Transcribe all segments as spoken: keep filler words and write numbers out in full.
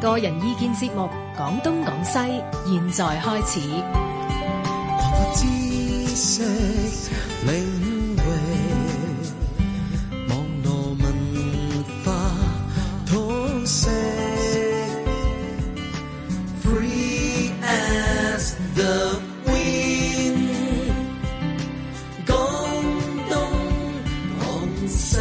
個人意見節目《講東講西》，現在開始。 知識領域，網絡文化通識 ，Free as the wind， 講東講西。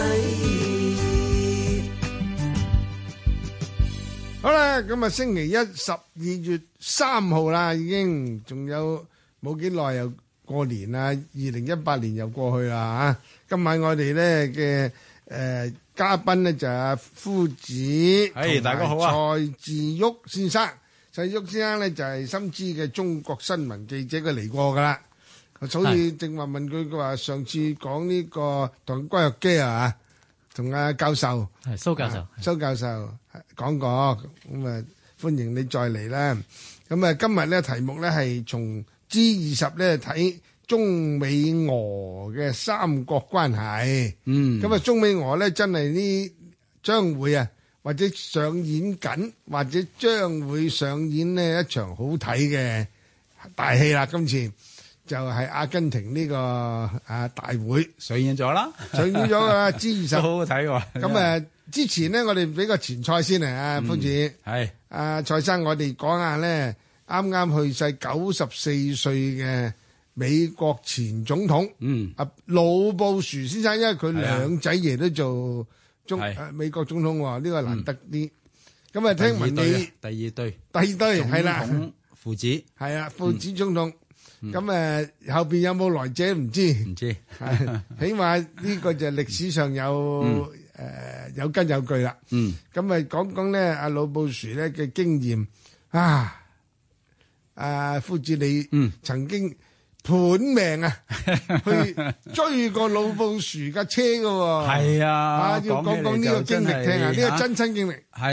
好啦，咁啊，星期一十二月三號啦，已經仲有冇幾耐又過年啦，二零一八年又過去啦嚇。今晚我哋咧嘅誒嘉賓咧就係阿夫子， 係大家好啊， 蔡志旭先生。蔡志旭先生咧就係深知嘅中國新聞記者，佢嚟過噶啦。所以正話問佢，佢話上次講呢個同關若基啊，同阿教授係蘇教授， 蘇教授講過，咁啊歡迎你再嚟啦。咁啊今日咧題目咧係從 G 二十咧睇中美俄嘅三國關係， 嗯， 咁啊中美俄咧真係呢將會啊或者上演緊，或者將會上演呢一場好睇嘅大戲啦。今次就係阿根廷呢個啊大會上演咗啦， 上演咗噶啦 G 二十， 好好睇喎。 咁啊之前咧我哋俾個前菜先啊，夫子係阿蔡生，我哋講下咧。啱啱去世九十四歲嘅美國前總統，嗯，阿老布殊先生，因為佢兩仔爺都做中誒美國總統喎，呢個難得啲。咁啊，聽聞你第二對， 第二對係啦， 父子係啊，父子總統。咁誒後邊有冇來者唔知？ 唔知， 起碼呢個就歷史上有誒有根有據啦。嗯，咁啊講講咧，阿老布殊咧嘅經驗啊。啊，夫子你曾經盤命啊，去追過老布殊架車噶喎， 係啊， 啊要講講呢個經歷聽下，呢個真親經歷。